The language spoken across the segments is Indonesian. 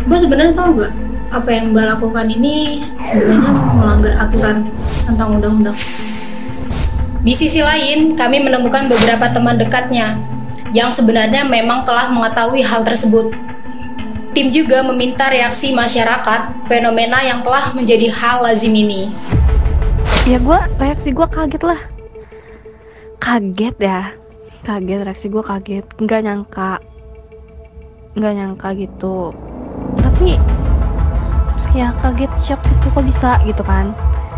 Mbak sebenarnya tahu nggak apa yang Mbak lakukan ini sebenarnya melanggar aturan tentang undang-undang? Di sisi lain, kami menemukan beberapa teman dekatnya yang sebenarnya memang telah mengetahui hal tersebut. Tim juga meminta reaksi masyarakat fenomena yang telah menjadi hal lazim ini. Ya reaksi gue kaget lah. Kaget, reaksi gue kaget. Nggak nyangka gitu. Tapi ya kaget, shock gitu, kok bisa gitu kan.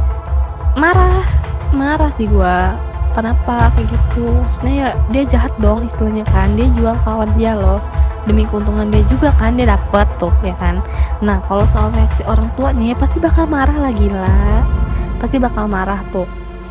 Marah sih gue. Kenapa kayak gitu? Maksudnya ya dia jahat dong istilahnya kan. Dia jual kawan dia loh, demi keuntungan dia juga kan, dia dapet tuh ya kan. Nah kalau soal reaksi orang tua nih pasti bakal marah lagi lah. Pasti bakal marah tuh.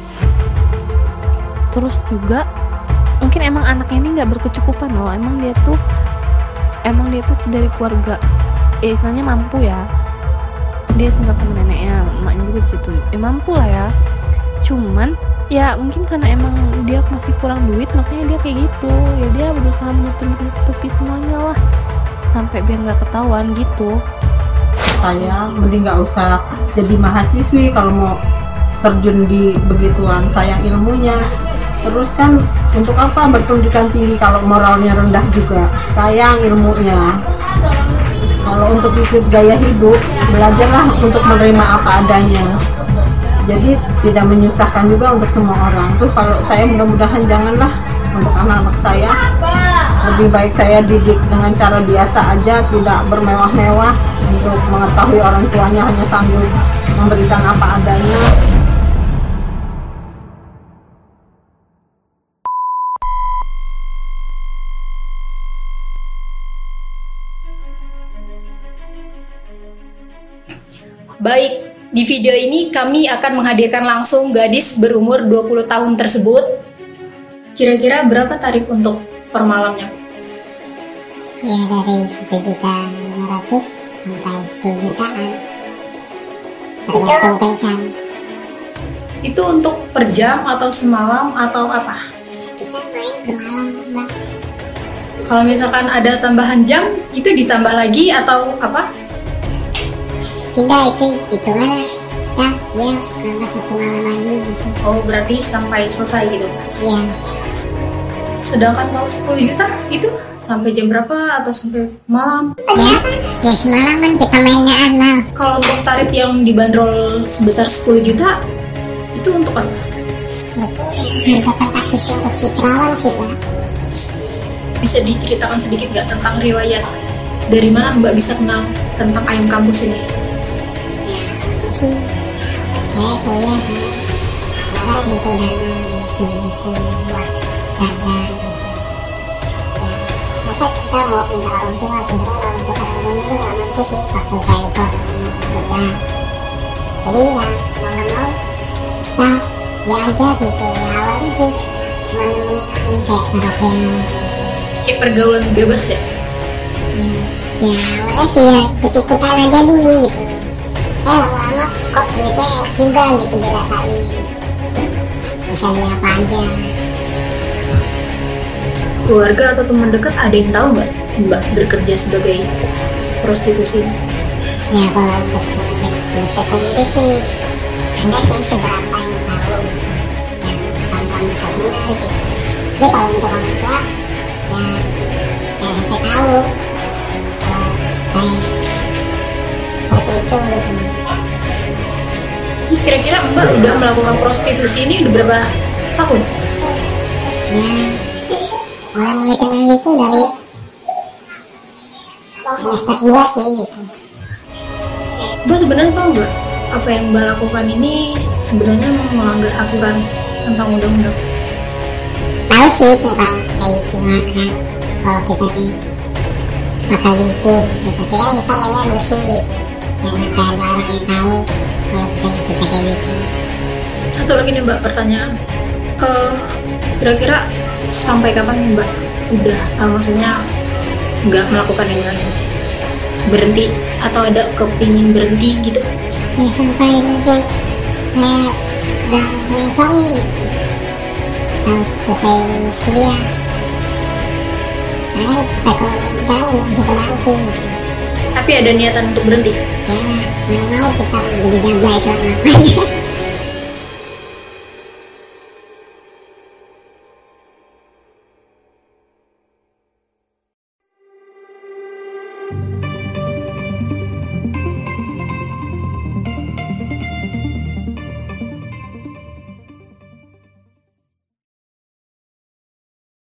Terus juga mungkin emang anaknya ini nggak berkecukupan loh. Emang dia tuh dari keluarga istilahnya mampu ya. Dia tinggal sama neneknya, emaknya juga di situ. Mampu lah ya. Cuman ya mungkin karena emang dia masih kurang duit, makanya dia kayak gitu. Ya dia berusaha menutupi semuanya lah, sampai biar nggak ketahuan gitu. Saya mending nggak usah jadi mahasiswi kalau mau terjun di begituan. Sayang ilmunya. Terus kan untuk apa berpendidikan tinggi kalau moralnya rendah juga? Sayang ilmunya. Kalau untuk ikut gaya hidup, belajarlah untuk menerima apa adanya. Jadi tidak menyusahkan juga untuk semua orang. Tuh kalau saya mudah-mudahan janganlah untuk anak-anak saya. Lebih baik saya didik dengan cara biasa aja, tidak bermewah-mewah untuk mengetahui orang tuanya hanya sanggup memberikan apa adanya. Baik, di video ini kami akan menghadirkan langsung gadis berumur 20 tahun tersebut. Kira-kira berapa tarif untuk per malamnya? Ya dari 1.500.000 sampai 10 jutaan, tergantung kencan. Itu untuk per jam atau semalam atau apa? Kita main bermalam, Mbak. Kalau misalkan ada tambahan jam, itu ditambah lagi atau apa? Tidak, itu lah kita dia nambah 1 malam lagi gitu. Oh, berarti sampai selesai gitu? Iya. Sedangkan kalau 10 juta itu sampai jam berapa atau sampai malam? Ya semalaman kita mainnya amal. Kalau untuk tarif yang dibanderol sebesar 10 juta itu untuk apa? Itu untuk harga fantastis untuk si perawan sih, Pak. Bisa diceritakan sedikit nggak tentang riwayat? Dari mana Mbak bisa kenal tentang ayam kampus ini? Sih saya kuliah kan, kadang butuh dana buat beli buku, buat dandan gitu ya. Masa kita mau minta orang tua, sebenarnya untuk orang tuanya gue gak mampu sih waktu saya itu orangnya berbeda. Jadi ya mau gak mau kita diajak gitu ya. Awalnya sih cuma nemenin kayak merotin Kayak pergaulan bebas ya? Ya awalnya sih ya ikut-ikutan aja dulu gitu. Lama-lama kok duitnya enak juga gitu dirasain, bisa beli apa aja. Keluarga atau teman dekat ada yang tahu nggak Mbak bekerja sebagai prostitusi? Ya kalau untuk teman dekat sendiri sih ada sih seberapa yang tahu gitu, yang tonton dekatnya gitu. Tapi kalau untuk orang tua ya jangan sampai tahu kalau saya ini seperti itu gitu. Kira-kira Mbak udah melakukan prostitusi ini udah berapa tahun? Ya mulai kenal itu dari semester 2 sih gitu. Mbak sebenarnya tahu nggak apa yang Mbak lakukan ini sebenarnya melanggar aturan tentang undang-undang? Tahu sih tentang kayak gitu kan, kalau kita nih bakal dihukum gitu. Tapi kan kita mainnya bersih gitu, jangan sampai ada orang yang tahu kalau misalnya kita kayak gitu. Satu lagi nih Mbak pertanyaan, kira-kira sampai kapan nih Mbak udah maksudnya nggak melakukan yang lain, berhenti atau ada kepingin berhenti gitu? Ya sampai nanti saya udah punya suami gitu, harus selesai lulus kuliah, karena kan perekonomian kita kan belum bisa terbantu gitu. Tapi tapi ada niatan untuk berhenti. Ya mana mau kita jadi gablay selama-lamanya.